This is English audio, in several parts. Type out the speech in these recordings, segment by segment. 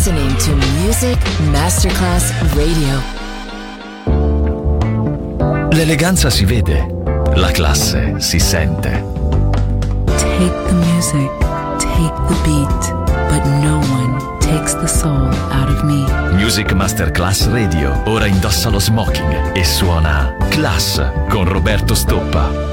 listening to Music Masterclass Radio. L'eleganza si vede, la classe si sente. Take the music, take the beat, but no one takes the soul out of me. Music Masterclass Radio ora indossa lo smoking e suona Class con Roberto Stoppa.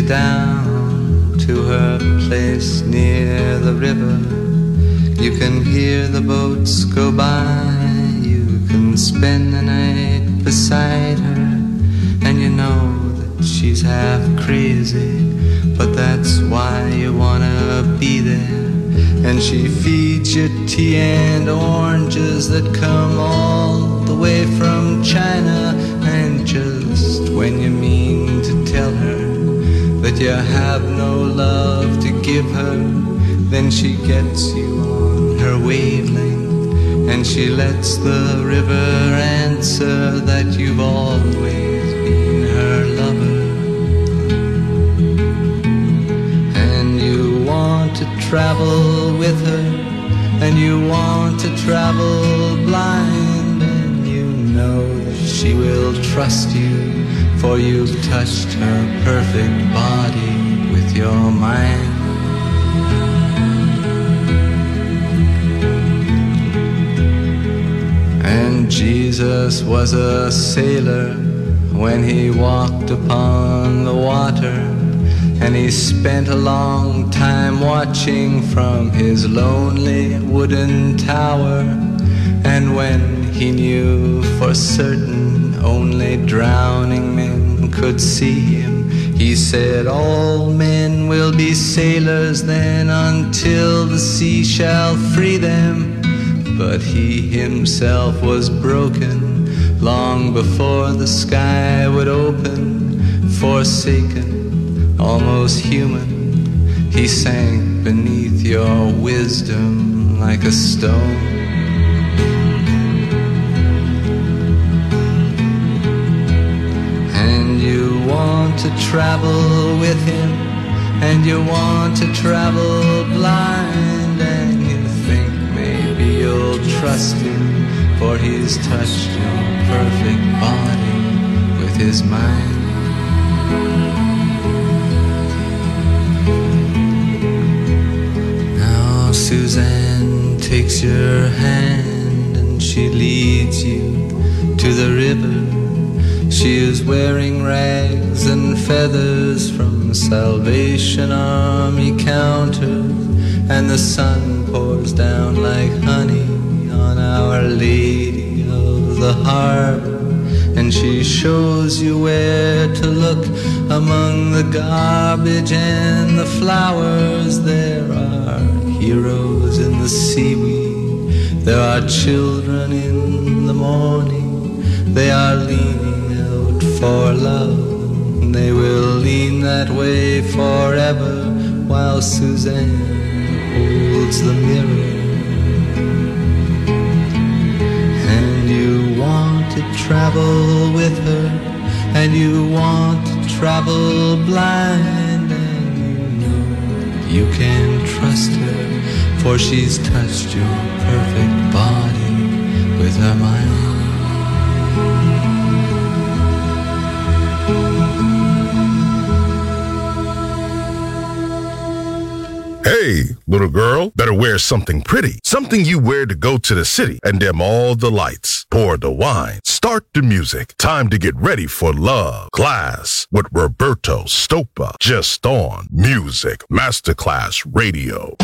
down to her place near the river. You can hear the boats go by. You can spend the night beside her. And you know that she's half crazy, but that's why you wanna be there. And she feeds you tea and oranges that come all the way from China. And just when you mean to tell her that you have no love to give her, then she gets you on her wavelength, and she lets the river answer that you've always been her lover. And you want to travel with her, and you want to travel blind, and you know that she will trust you, for you've touched her perfect body with your mind. And Jesus was a sailor when he walked upon the water, and he spent a long time watching from his lonely wooden tower. And when he knew for certain only drowning men could see him, he said, all men will be sailors then until the sea shall free them. But he himself was broken long before the sky would open. Forsaken, almost human, he sank beneath your wisdom like a stone. And you want to travel with him, and you want to travel blind, and you think maybe you'll trust him, for he's touched your perfect body with his mind. Now Suzanne takes your hand and she leads you to the river. She is wearing rags and feathers from Salvation Army counters, and the sun pours down like honey on Our Lady of the Harbor. And she shows you where to look among the garbage and the flowers. There are heroes in the seaweed, there are children in the morning. They are leaning out for love, they will lean that way forever, while Suzanne holds the mirror. And you want to travel with her, and you want to travel blind, and you know you can trust her, for she's touched your perfect body with her mind. Hey, little girl, better wear something pretty. Something you wear to go to the city and dim all the lights. Pour the wine. Start the music. Time to get ready for love. Class with Roberto Stoppa. Just on Music Masterclass Radio.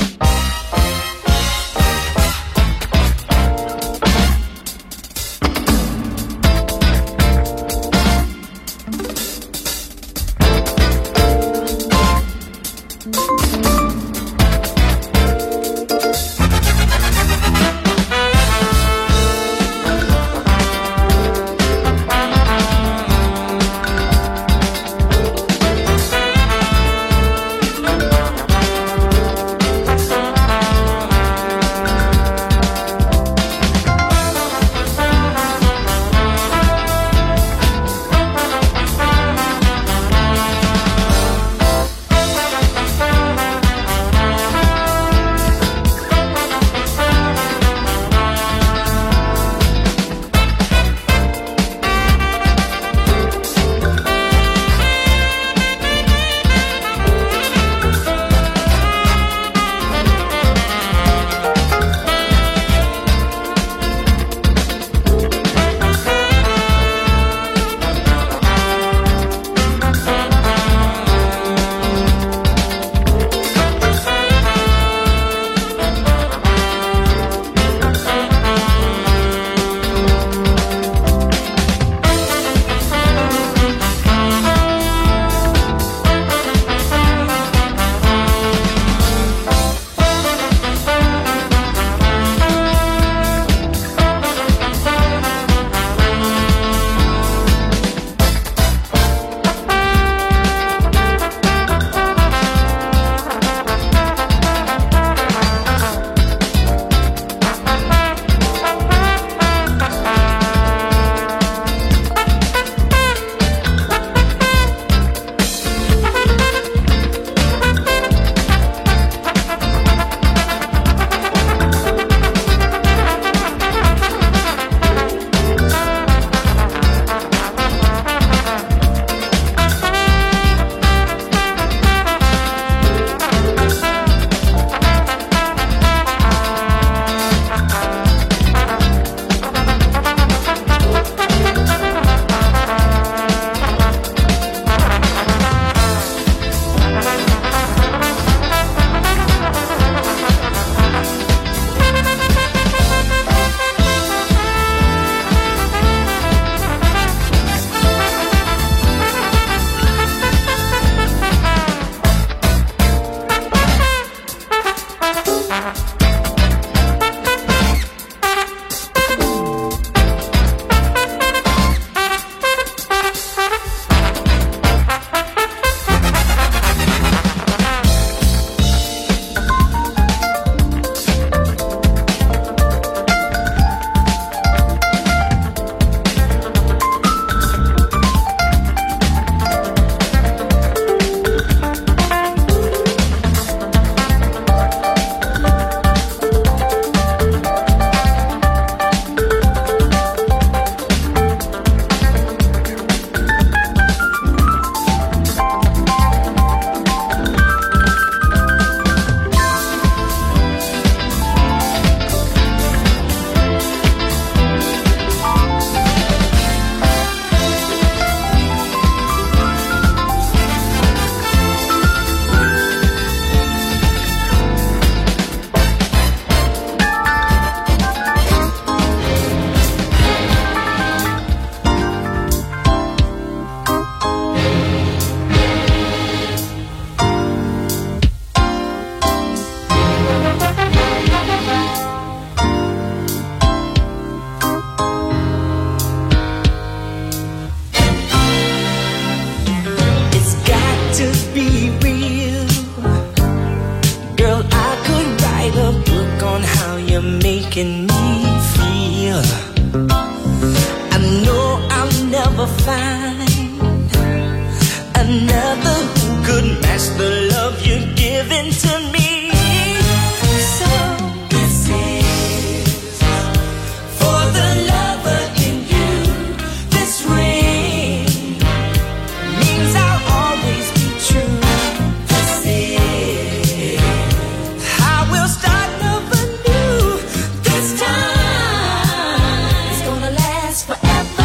you're making me feel. I know I'll never find another who could match the love you're giving to me. So this is for the lover in you. This ring means I'll always be true. This is I will start love anew. This time it's gonna last forever.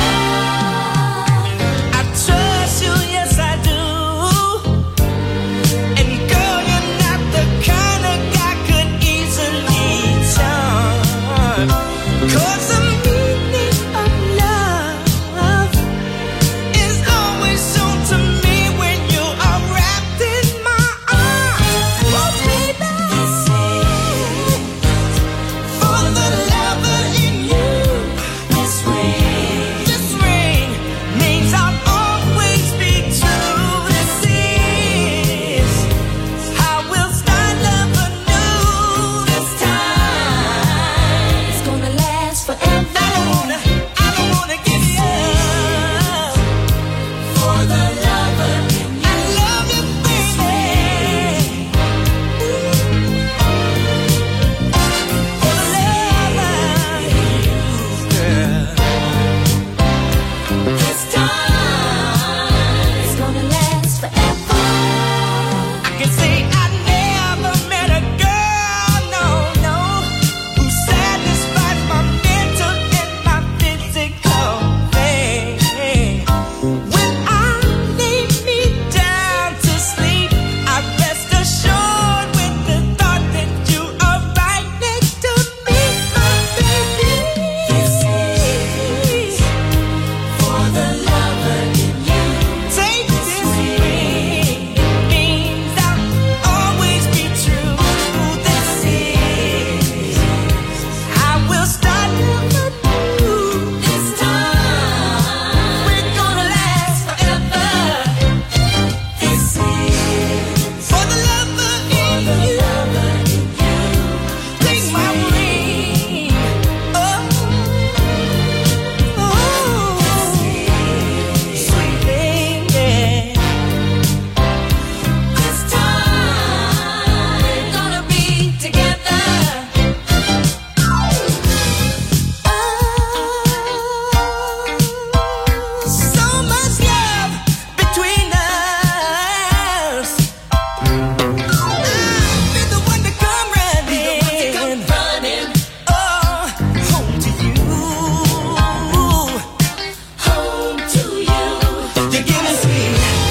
I trust you, yes I do. And girl, you're not the kind of guy could easily charm. 'Cause the meaning of love is always shown to me when you are wrapped in my arms. Oh baby, this is for the lover in you. This ring means I'll always be true. This is I will start love anew. This time it's gonna last forever. I don't wanna give you up for the lover in you. I love you, baby. For the lover in you, girl. This time it's gonna last forever. I can say I never met a girl, no, who satisfies my mental and my physical pain. When I lay me down to sleep, I rest assured with the thought that you are right next to me, my baby. This is for the lover in you. Take this ring, it means I'll always be true. This is I will start love anew. This time we're gonna last forever. This is for the lover in you. Take my ring. Sweet baby. This time we're gonna be together. So much love between us. I'll be the one to come running. Oh, home to you. Home to you. You're giving sweet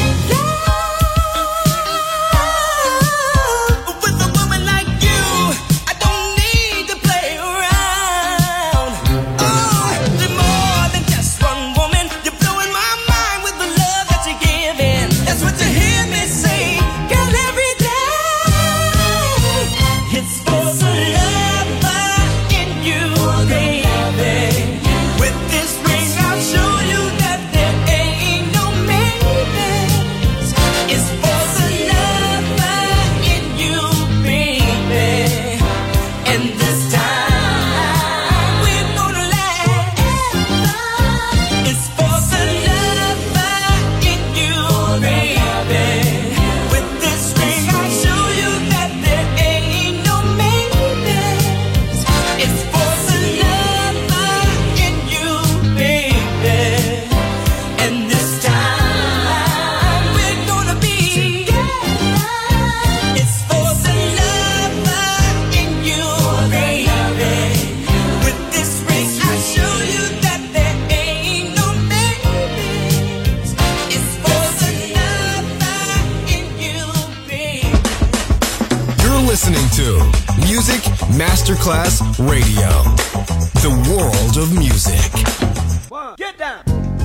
love. With a woman like you, I don't need to play around. Oh, you're more than just one woman. You're blowing my mind with the love that you're giving. That's what you hear me say, girl, every day. It's for the lover in you, baby. With this ring, I'll show you that there ain't no maybes. It's for the lover in you, baby. And this time we're gonna last. It's for the lover in you, baby. With this ring, I'll show you that there ain't no maybes. It's for the lover in you, baby. And this time we're gonna be together. It's for the lover in you, baby. With this ring, I'll show you that there ain't no maybes. It's for the lover in you, baby. You're listening to Music Masterclass Radio. The world of music. Get down.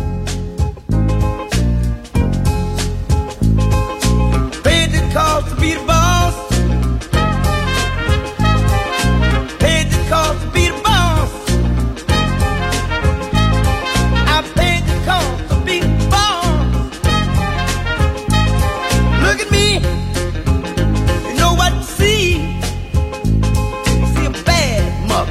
Paid the cost to be the boss. Paid the cost to be the boss. I paid the cost to be the boss. Look at me. You know what you see? You see a bad mother.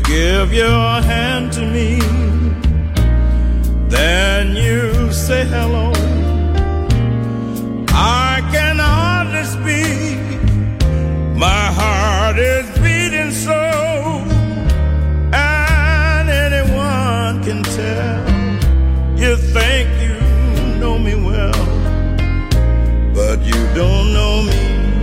give your hand to me, then you say hello. I can hardly speak, my heart is beating so, and anyone can tell. You think you know me well, but you don't know me.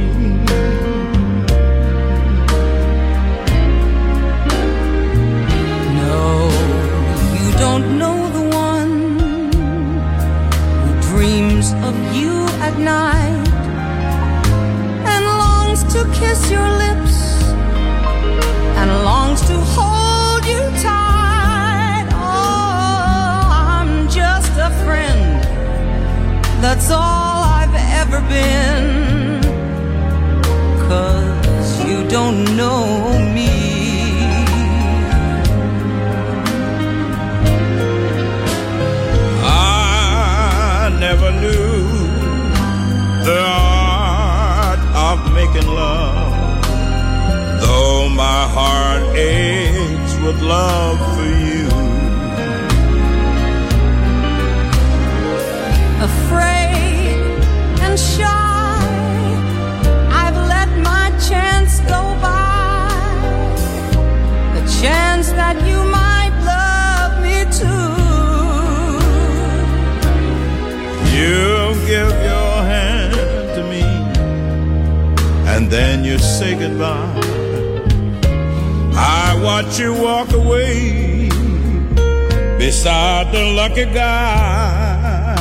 No, you don't know the one who dreams of you at night and longs to kiss your lips and longs to hold you tight. Oh, I'm just a friend, that's all I've ever been, 'cause you don't know me. I never knew the art of making love, though my heart aches with love for you. Afraid and shy, I've let my chance go by, the chance that you might love me too. You give your hand to me, and then you say goodbye. I watch you walk away beside the lucky guy.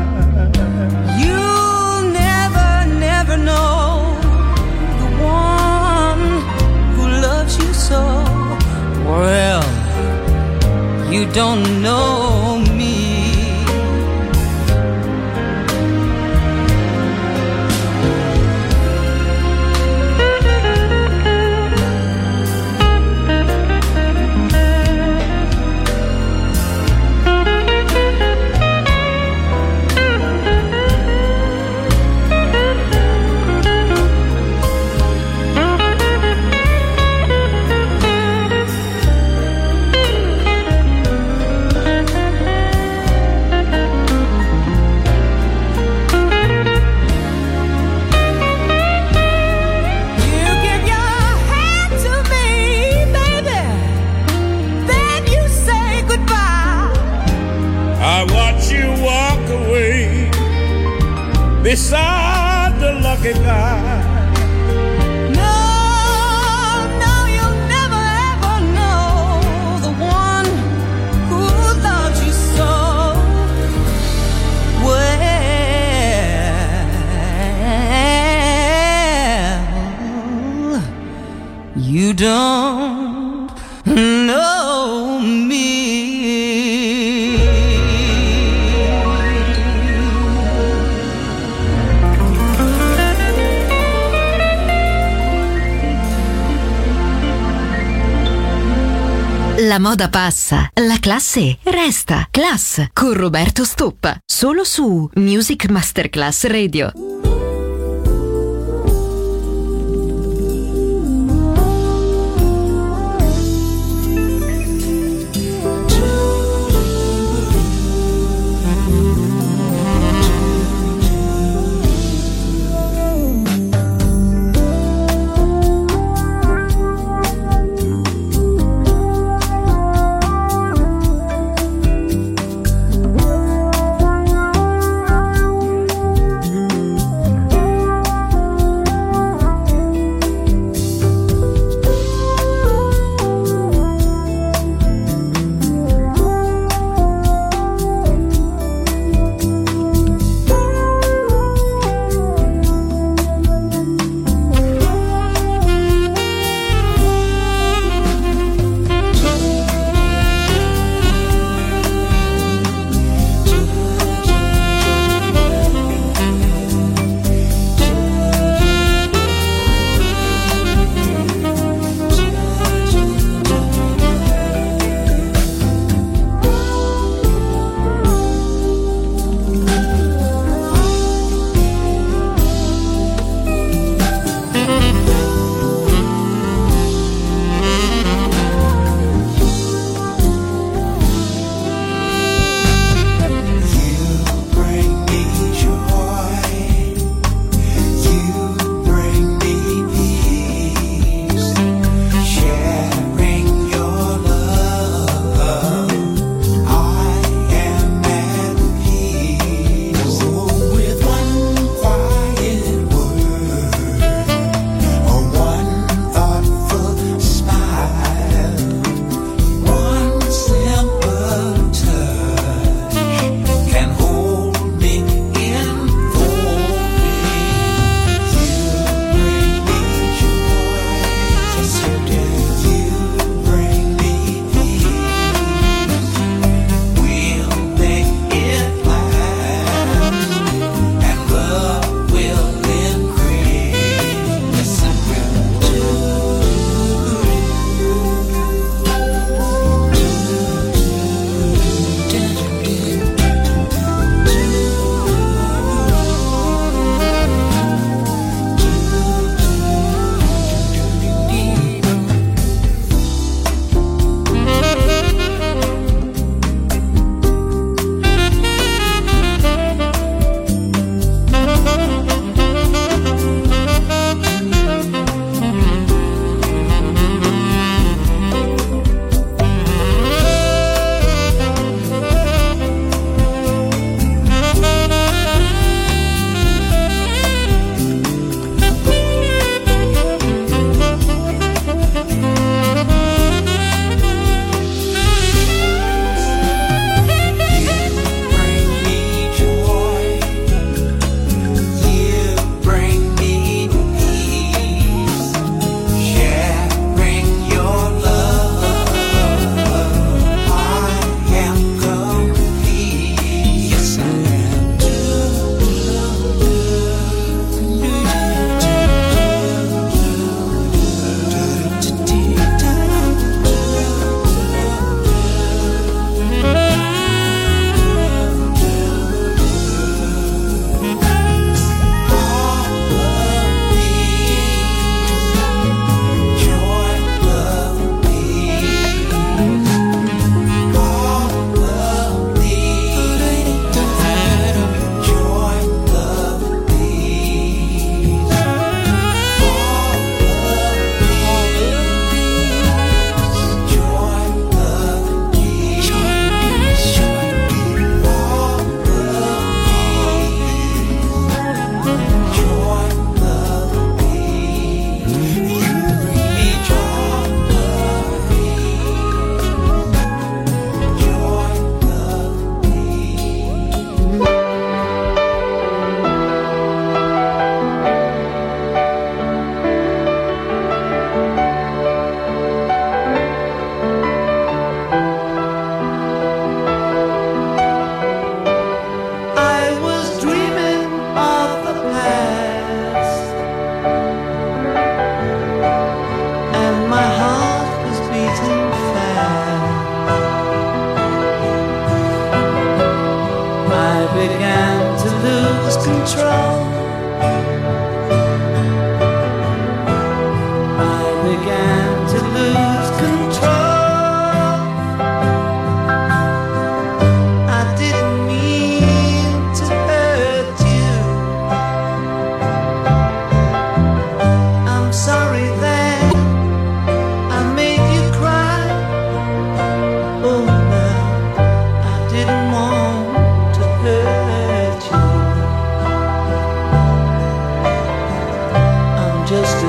You'll never, never know the one who loves you so. Well, you don't know me. Beside the lucky guy. No, no, you'll never ever know the one who loves you so well. You don't know me. La moda passa, la classe resta. Class con Roberto Stoppa, solo su Music Masterclass Radio.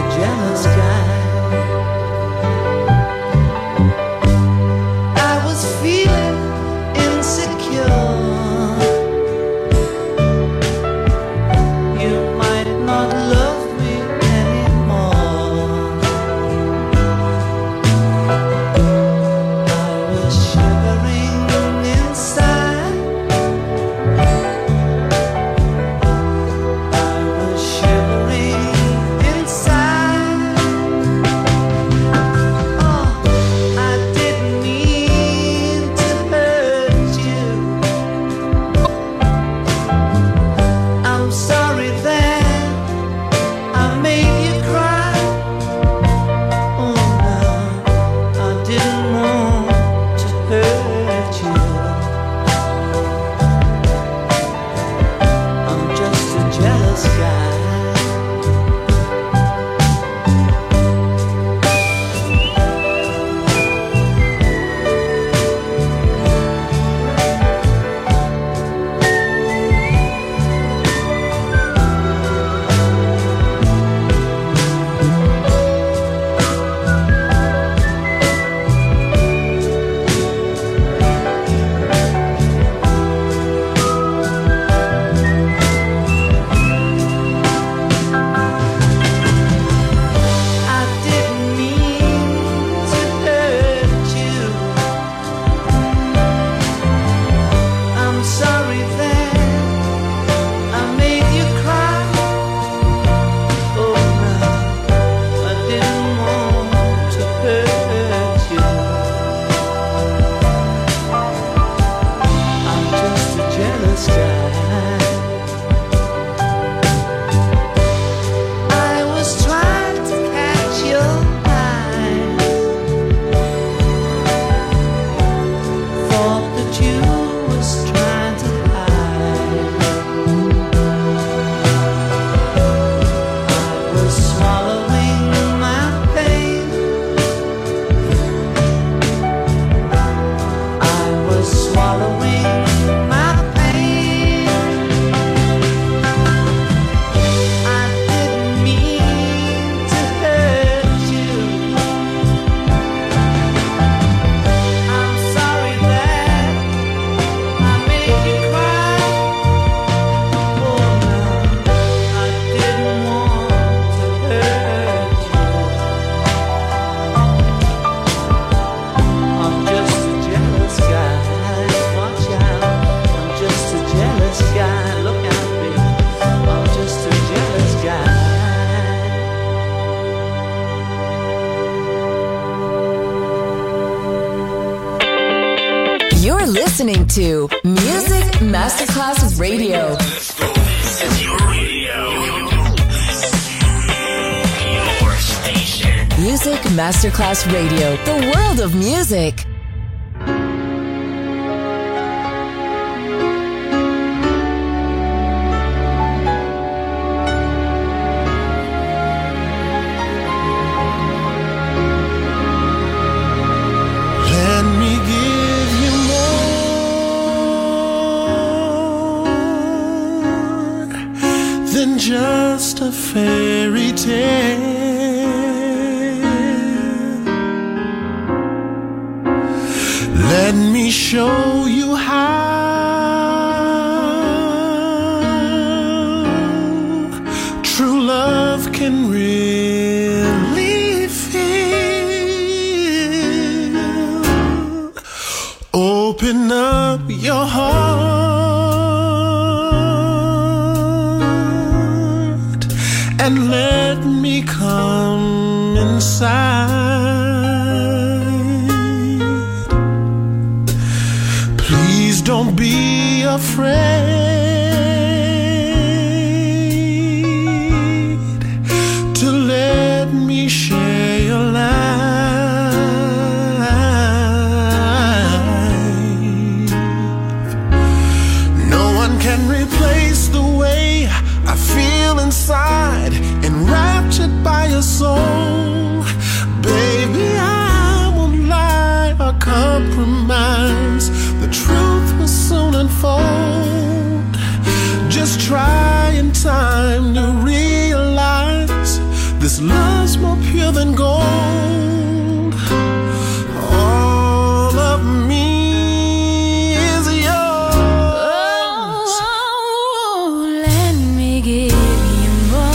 jealous guy. I was feeling insecure. You might not love me anymore. I was shivering inside. I was shivering inside. Oh, I didn't mean to hurt you. I'm sorry that I made you cry. Oh no, I didn't want to hurt you. I'm just a jealous guy. I didn't mean to hurt you. I'm sorry that I made you cry. Oh no, I didn't want to hurt you. I'm just a jealous guy. I was trying to catch your eye. Thought that you was trying to hide. I was swallowing my pain. I was swallowing my pain. I didn't mean to hurt you. I'm sorry that I made you cry. Oh no, I didn't want to hurt you. I'm just a jealous guy. Watch out, I'm just a jealous guy. Look out, baby, I'm just a jealous guy. You're listening to Music Masterclass Radio. Music Masterclass Radio, the world of music. Let me give you more than just a fairy tale. Let me show you how true love can really feel. Open up your heart and let me come inside. Please don't be afraid to let me share your life. No one can replace the way I feel inside, enraptured by your soul. Baby, I won't lie or compromise. The truth will soon unfold. much more pure than gold. All of me is yours. Oh, let me give you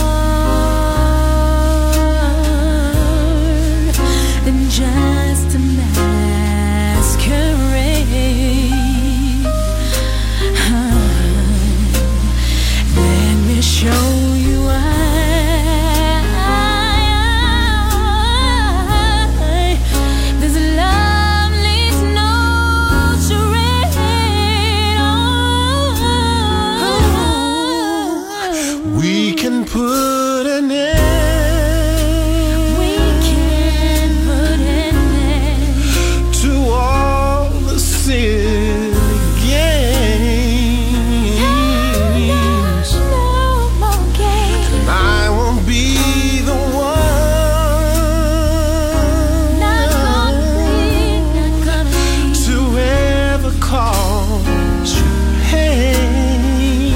more than just a masquerade. Let me show you this love needs no charade. We can put an end. We can put an end to all the silly games. no more games. I won't be the one Not gonna be. to ever cause you pain.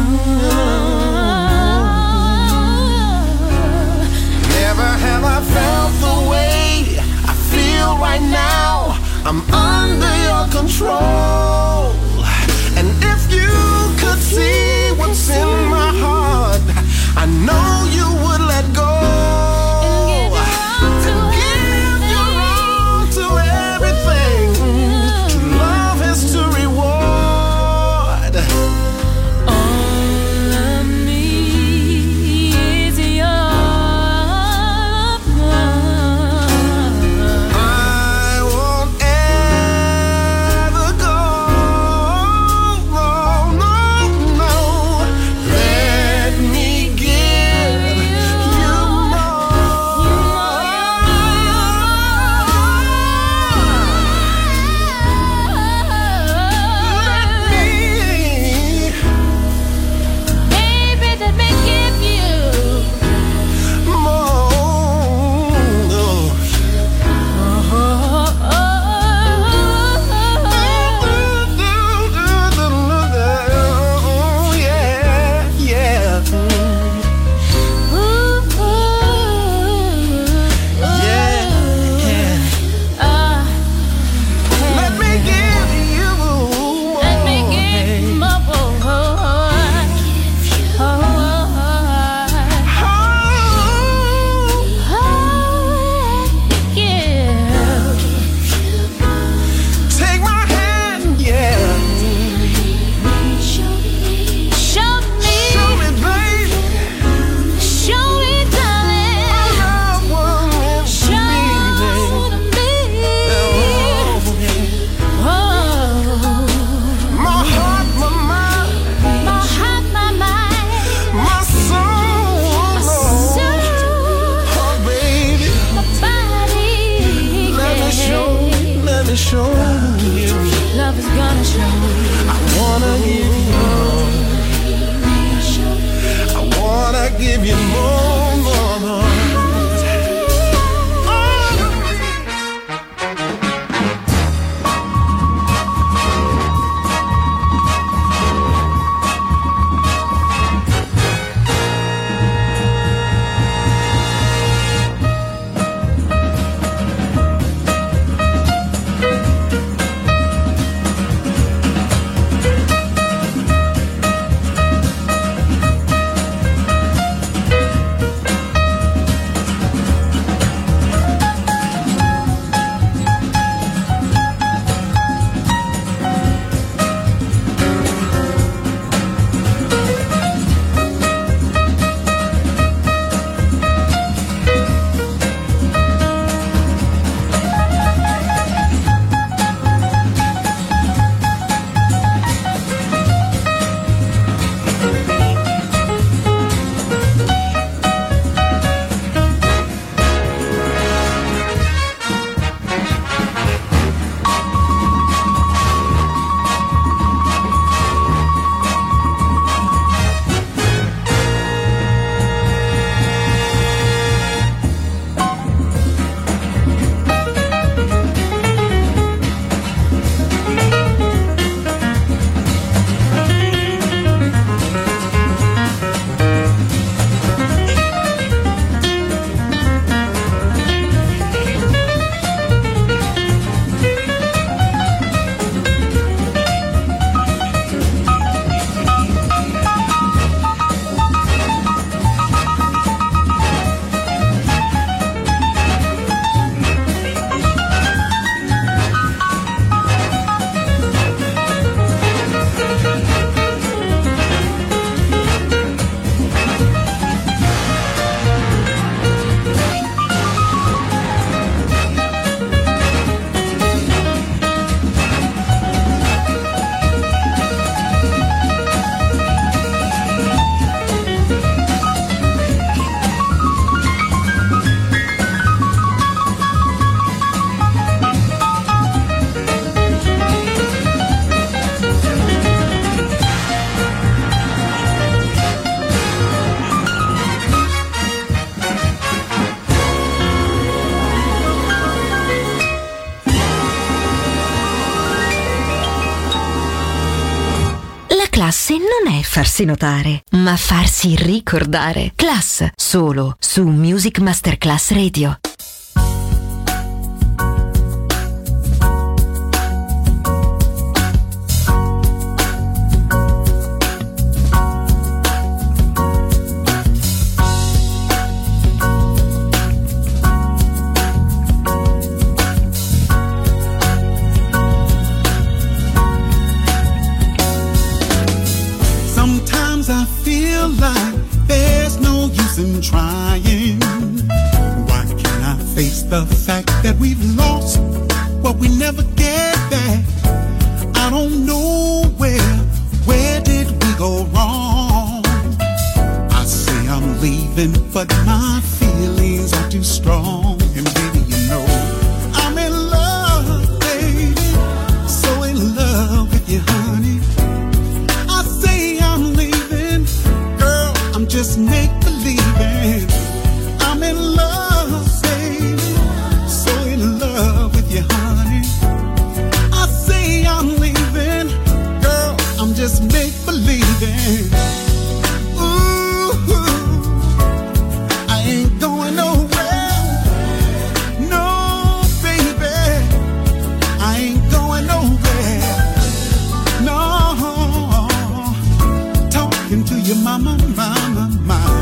Never have I felt the way I feel right now. I'm under your control. And if you could see what's in my heart, I know you would let go. And give your all to everything. True love is to reward. All of me is yours. I won't ever go. No, no, no. Let me give you Baby, let me give you more. Yeah, yeah. Let me give you more. Let me give you more. Take my hand, yeah. Show me, Show me, baby. show me, darling. I love what meant to Show be, me. my heart, my mind, My heart, my mind, my soul, soul, oh baby. my body. Let me show you. Love is gonna show. I wanna give you more. I wanna give you more, more, more. classe non è farsi notare, ma farsi ricordare. Class, solo su Music Masterclass Radio. Trying. Why can't I face the fact that we've lost what we never get back? I don't know where did we go wrong? I say I'm leaving, but my feelings are too strong. And baby, you know I'm in love, baby, so in love with you, honey. I say I'm leaving, girl, I'm just make I'm in love, baby, so in love with you, honey. I say I'm leaving, girl, I'm just make-believing. Ooh, I ain't going nowhere. No, baby, I ain't going nowhere. No, talking to your mama, mama, mama.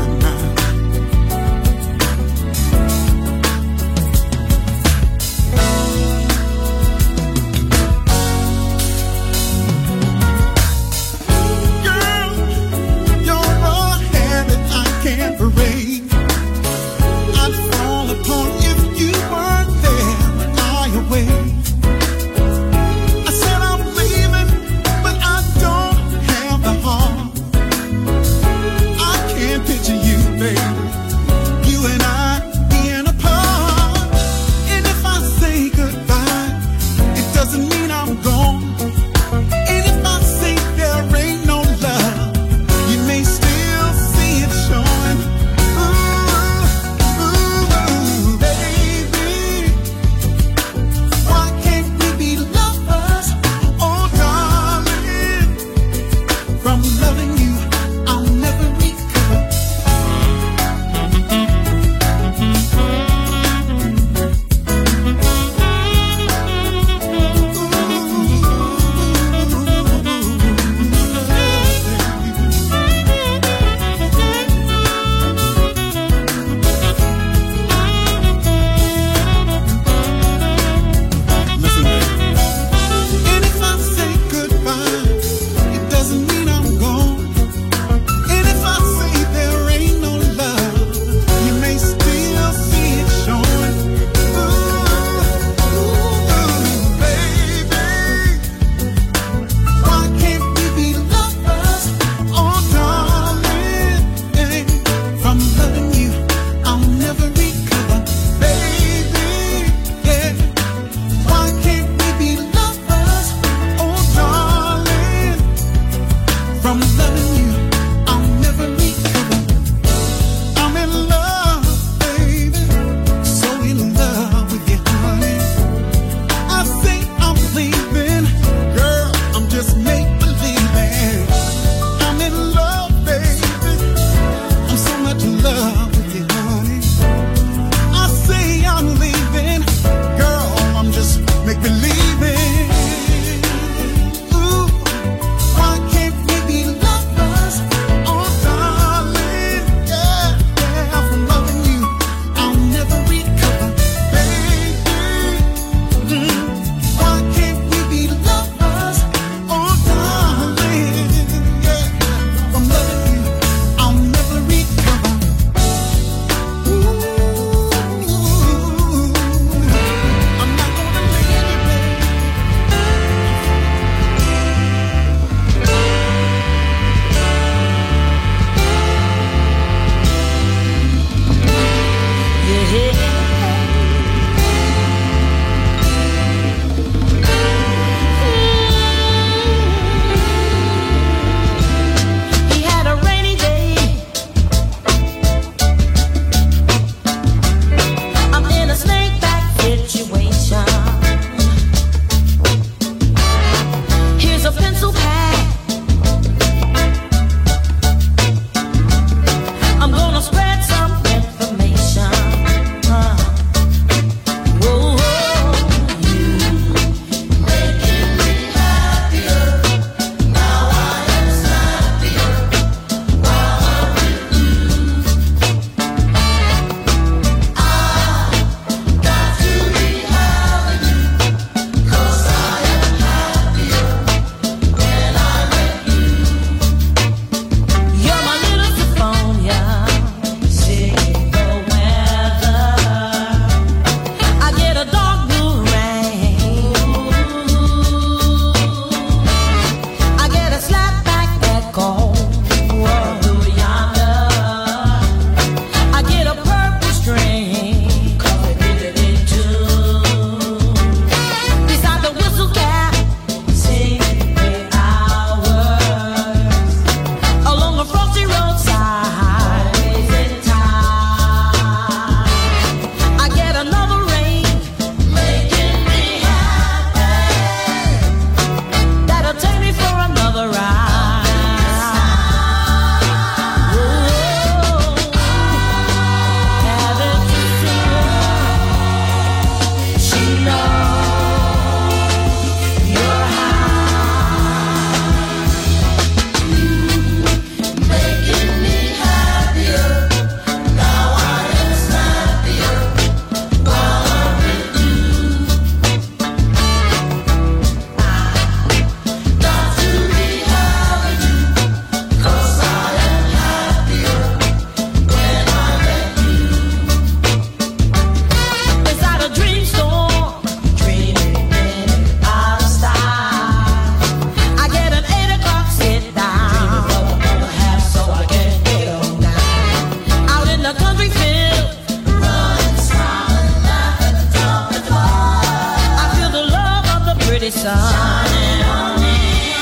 be shining on me.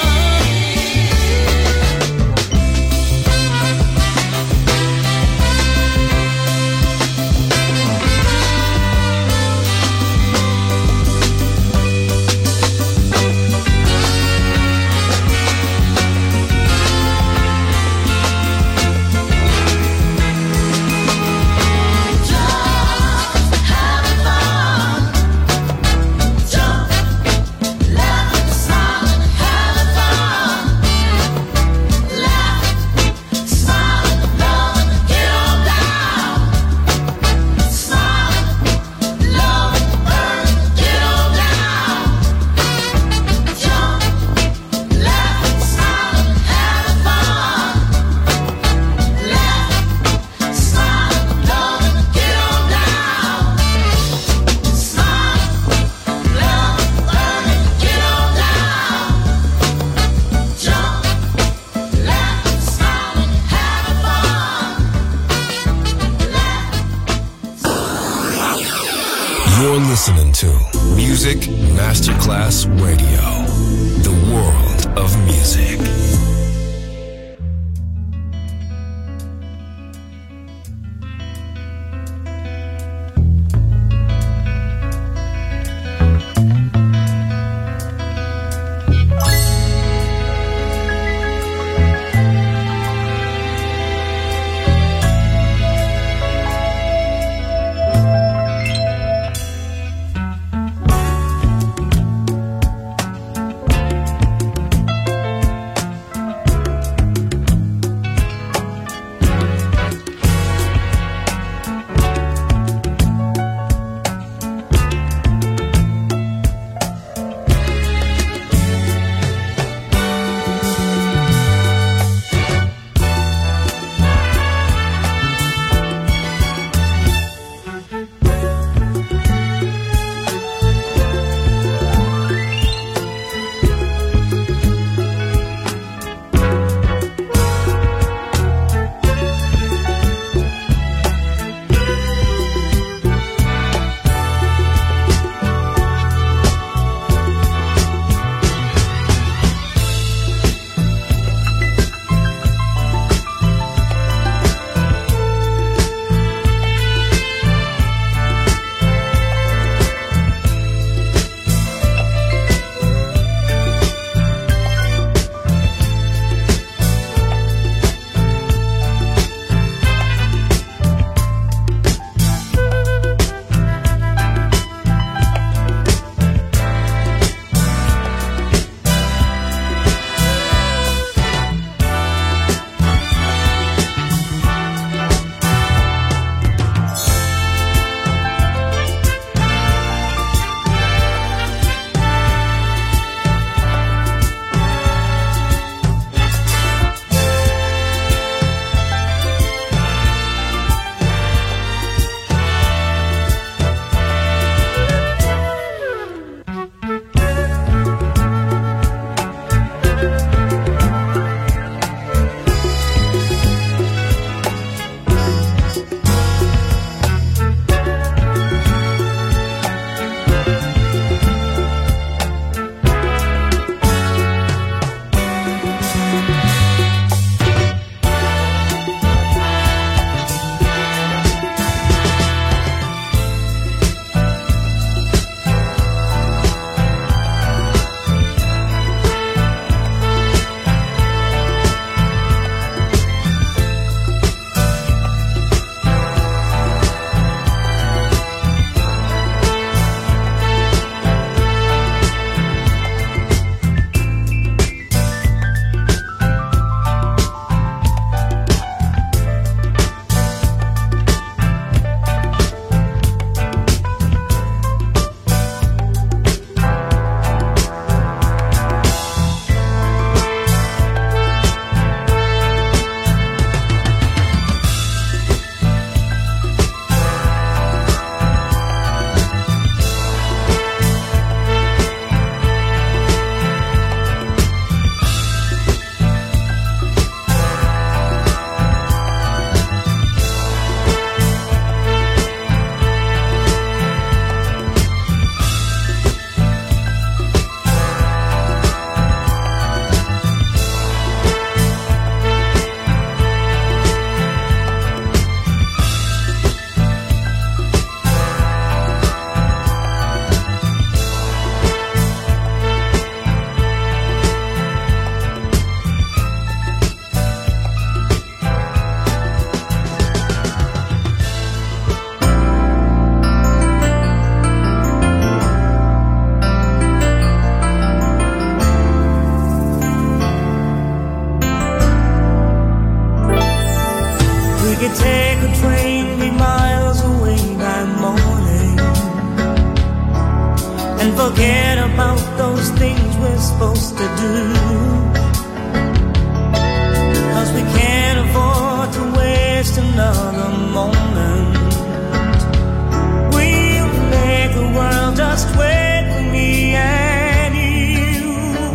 You're listening to Music Masterclass Radio, the world of music. and forget about those things we're supposed to do. 'Cause we can't afford to waste another moment. We'll make the world just wait for me and you.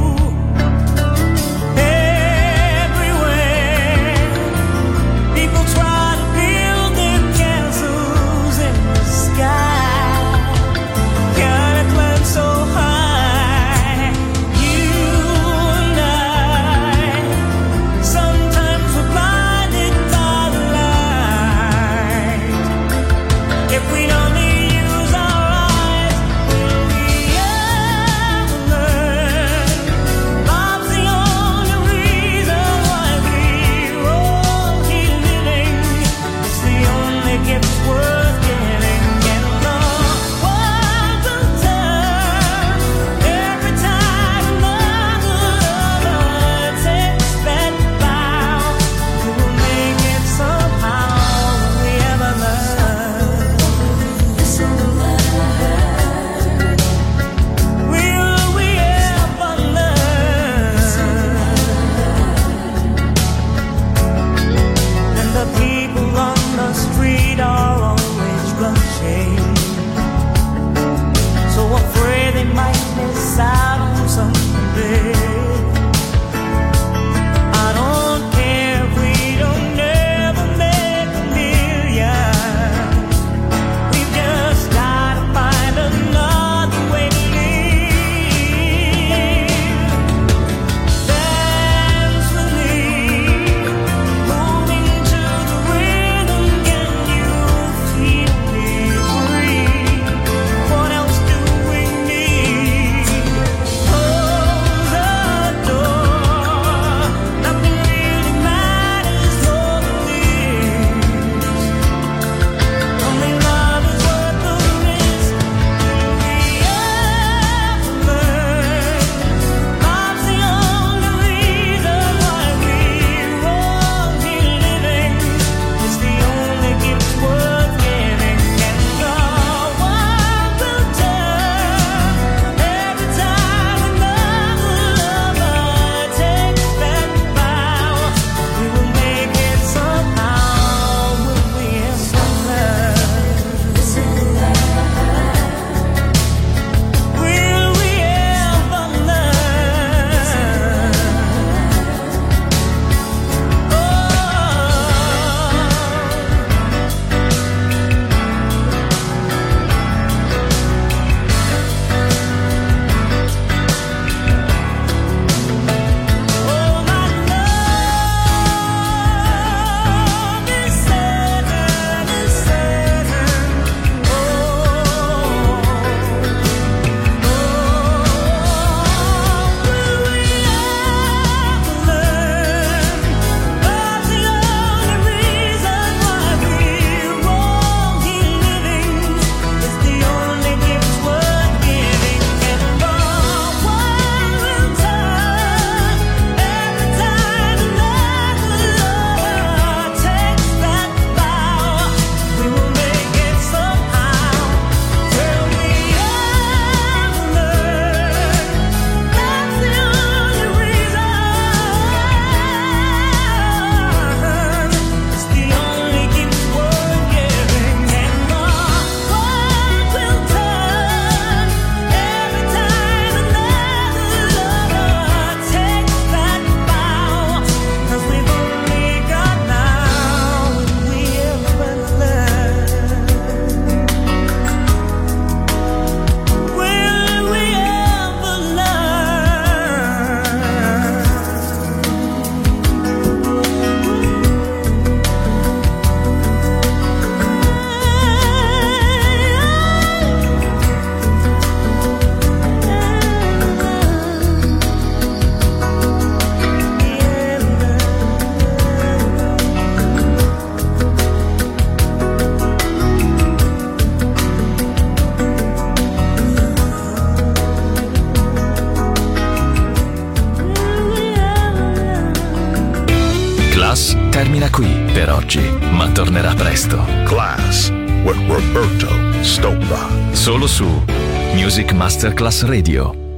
Everywhere people try to build their castles in the sky, gotta climb so high. You and I, sometimes we're blinded by the light. If we only use our eyes, will we ever learn? Love's the only reason why we're all here living. It's the only gift worth giving, and the world will turn every time another lover takes that vow. We will make it somehow. Will we ever learn? Will we ever learn? And the people on the street are always rushing, so afraid they might miss out on something. I don't care if we don't ever make a million. We've just gotta find another way to live. Dance with me, moving to the rhythm. Can you feel me breathe? What else do we need? Close the door. Nothing really matters more than this. Only love is worth the risk. Will we ever learn? Love's the only reason why we're all here living. It's the only gift worth giving, and the world will turn every time another lover takes that vow. We will make it somehow. Will we ever learn? Will we ever learn? Oh, my love is certain, is certain. Oh, will we ever learn? Love's the only reason why we're all here living. It's the only gift worth giving, and the world will turn every time another lover takes that vow. We will make it somehow. Will we ever learn? That's the only reason. It's the only gift worth giving, and the world will turn every time another lover takes that vow. 'Cause we've only got now. Will we ever learn? Will we ever Class termina qui per oggi, ma tornerà presto. Class with Roberto Stoppa. Solo su Music Masterclass Radio.